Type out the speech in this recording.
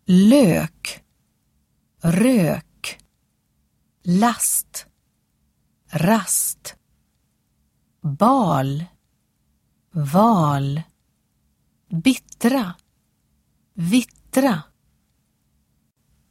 lök, rök, last, rast, bal, val, bittra, vittra,